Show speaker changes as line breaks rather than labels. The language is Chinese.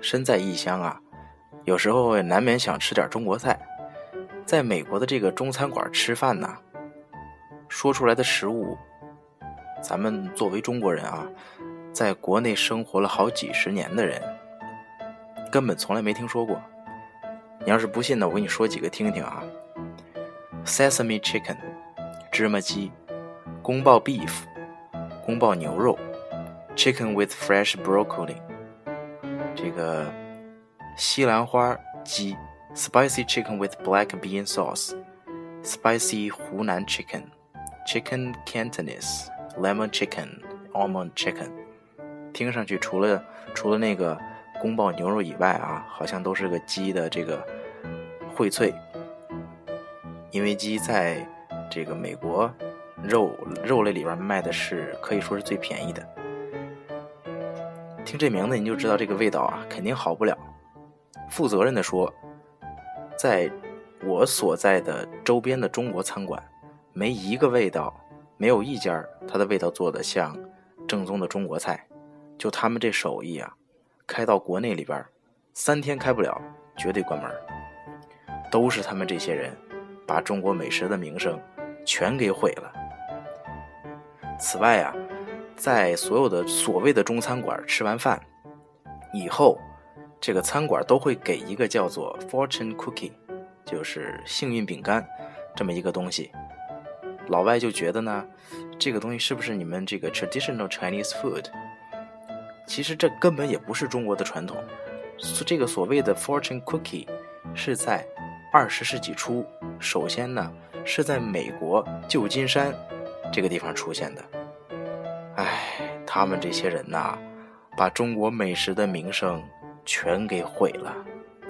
身在异乡啊，有时候也难免想吃点中国菜。在美国的这个中餐馆吃饭呢，说出来的食物，咱们作为中国人啊，在国内生活了好几十年的人，根本从来没听说过。你要是不信呢，我给你说几个听听啊。Sesame chicken 芝麻鸡，宫爆 beef 宫爆牛肉， chicken with fresh broccoli 这个西兰花鸡， spicy chicken with black bean sauce, spicy 湖南 chicken, chicken Cantonese, lemon chicken, almond chicken。 听上去除了那个宫爆牛肉以外啊，好像都是个鸡的这个荟萃，因为鸡在这个美国肉类里边卖的是可以说是最便宜的。听这名字你就知道这个味道啊肯定好不了。负责任的说，在我所在的周边的中国餐馆，没一个味道，没有一家它的味道做的像正宗的中国菜。就他们这手艺啊，开到国内里边3天开不了，绝对关门。都是他们这些人把中国美食的名声全给毁了。此外啊，在所有的所谓的中餐馆吃完饭以后，这个餐馆都会给一个叫做 fortune cookie， 就是幸运饼干这么一个东西。老外就觉得呢，这个东西是不是你们这个 traditional Chinese food？ 其实这根本也不是中国的传统。这个所谓的 fortune cookie 是在20世纪初，首先呢是在美国旧金山这个地方出现的。他们这些人呐，把中国美食的名声全给毁了。